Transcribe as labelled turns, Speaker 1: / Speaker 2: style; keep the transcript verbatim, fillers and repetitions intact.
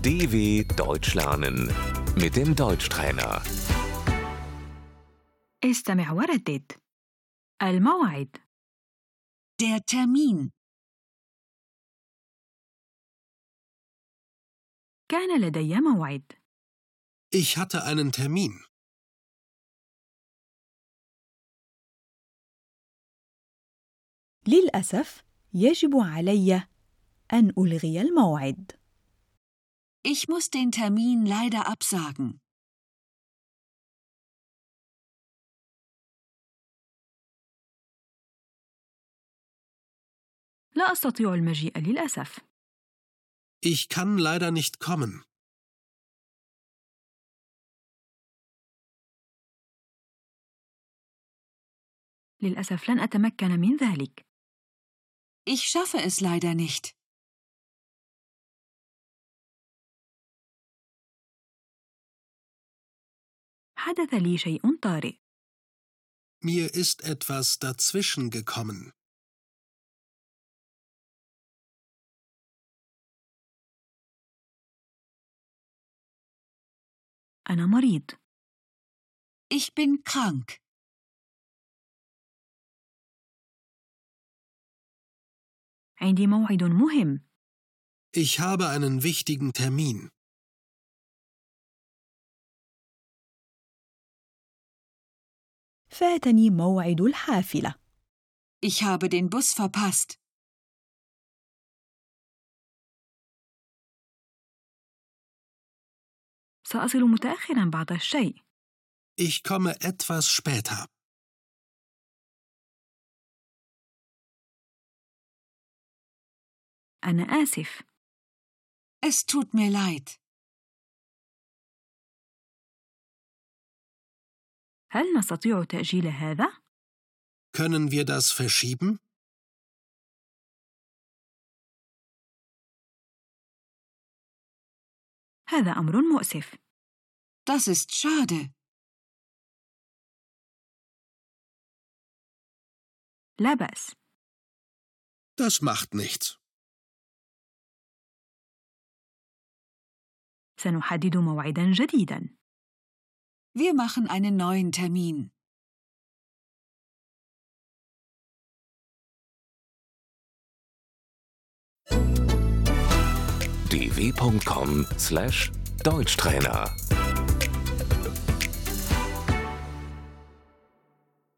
Speaker 1: D W Deutsch lernen mit dem Deutschtrainer.
Speaker 2: استمع وردد. الموعد.
Speaker 3: Der Termin.
Speaker 2: كان لدي موعد.
Speaker 4: Ich hatte einen Termin.
Speaker 5: للأسف يجب علي أن ألغي الموعد.
Speaker 3: Ich muss den Termin leider absagen.
Speaker 2: لا أستطيع المجيء للأسف.
Speaker 4: Ich kann leider nicht kommen.
Speaker 2: للأسف لن أتمكن من ذلك.
Speaker 3: Ich schaffe es leider nicht.
Speaker 2: حدث لي شيء طارئ.
Speaker 4: Mir ist etwas dazwischen gekommen.
Speaker 2: أنا مريض.
Speaker 3: Ich bin krank.
Speaker 2: عندي موعد مهم.
Speaker 4: Ich habe einen wichtigen Termin.
Speaker 5: فاتني موعد الحافلة.
Speaker 3: Ich habe den Bus verpasst.
Speaker 2: سأصل متأخراً بعض الشيء.
Speaker 4: Ich komme etwas später.
Speaker 2: أنا آسف.
Speaker 3: Es tut mir leid.
Speaker 2: هل نستطيع تأجيل هذا؟
Speaker 4: Können wir das verschieben?
Speaker 2: هذا أمر مؤسف.
Speaker 3: Das ist schade.
Speaker 2: لا بأس.
Speaker 4: Das macht nichts.
Speaker 2: سنحدد موعداً جديداً.
Speaker 3: Wir machen einen neuen Termin.
Speaker 1: d w punkt com slash Deutschtrainer